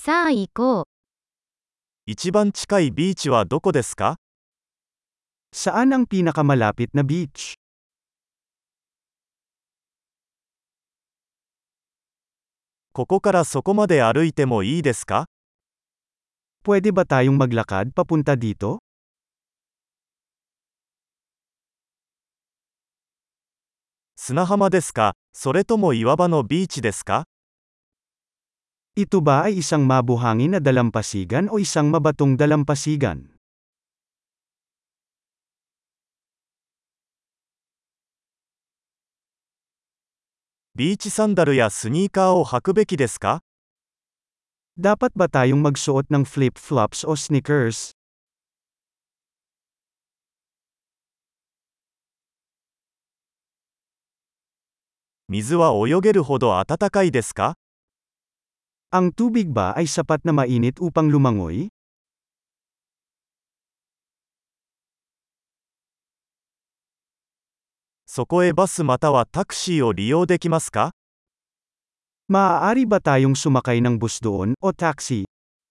さあ行こう。 一番近いビーチはどこですか？ Saan ang pinakamalapit na beach? ここからそこまで歩いてもいいですか？ Pwede ba tayong maglakad papunta dito? 砂浜ですか？それとも岩場のビーチですか？ Ito ba ay isang mabuhangin na dalampasigan o isang mabatong dalampasigan? ビーチサンダルやスニーカーを履くべきですか？ Dapat ba tayong magsuot ng flip-flops o sneakers? 水は泳げるほど暖かいですか？ Ang tubig ba ay sapat na mainit upang lumangoy? そこへバスまたはタクシーを利用できますか？ Maaari ba tayong sumakay ng bus doon o taxi?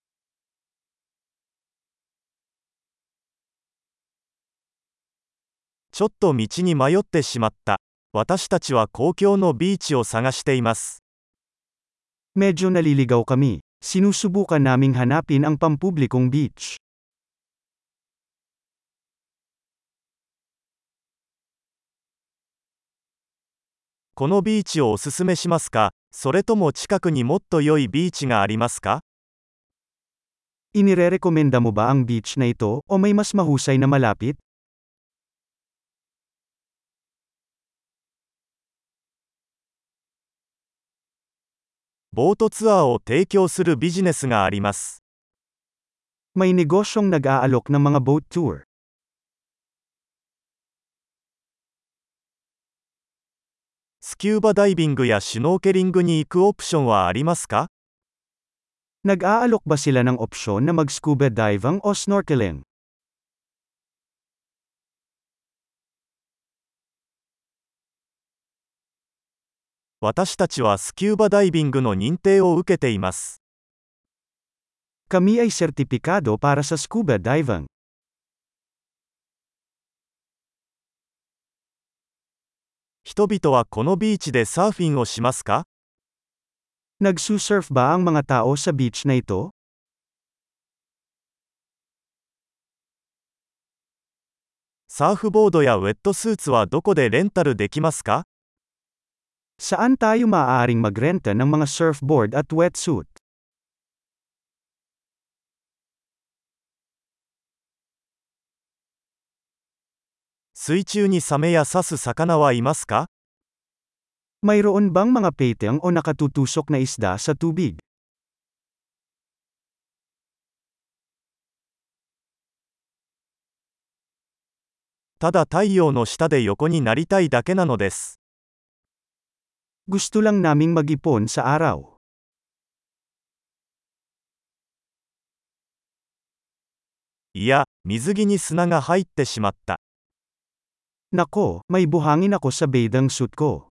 ちょっと道に迷ってしまった。私たちは公共のビーチを探しています。 Medyo naliligaw kami. Sinusubukan naming hanapin ang pampublikong beach. このビーチをおすすめしますか？それとも近くにもっと良いビーチがありますか？ Inirerekomenda mo ba ang beach na ito o may mas mahusay na malapit? ボートツアーを提供するビジネスがあります。 May negosyong nag-aalok ng mga boat tour. スキューバダイビングやシュノーケリングに行くオプションはありますか？ Nag-aalok ba sila ng opsyon na mag-scuba diving o snorkeling? 私たちはスキューバダイビングの認定を受けています。 Kami ay sertipikado para sa scuba diving. 人々はこのビーチでサーフィンをしますか？ Nagsusurf ba ang mga tao sa beach na ito? サーフボードやウェットスーツはどこでレンタルできますか？ Saan tayo maaaring magrenta ng mga surfboard at wetsuit? 水中にサメや刺す魚はいますか？ Mayroon bang mga peteng o nakatutusok na isda sa tubig? ただ太陽の下で横になりたいだけなのです。 Gusto lang naming mag-ipon sa araw. いや、水着に砂が入ってしまった。 Nako, may buhangin ako sa bathing suit ko.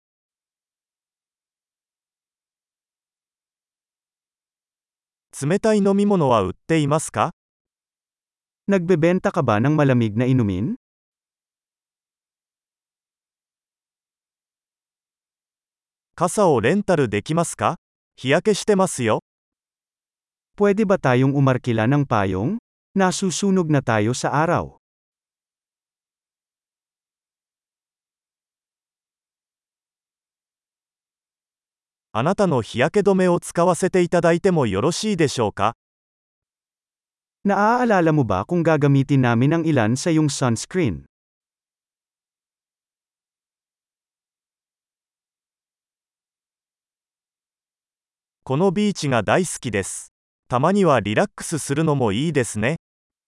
冷たい飲み物は売っていますか？ Nagbebenta ka ba ng malamig na inumin? 傘をレンタルできますか？日焼けしてますよ。 Pwede ba tayong umarkila ng payong? Nasusunog na tayo sa araw. あなたの日焼け止めを使わせていただいてもよろしいでしょうか？ Naaalala mo ba kung gagamitin namin ang ilan sa iyong sunscreen? このビーチが大好きです。たまにはリラックスするのもいいですね。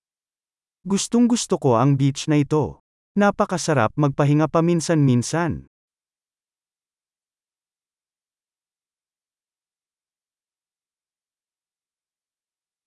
Gustong-gusto ko ang beach na ito. Napakasarap magpahinga paminsan-minsan.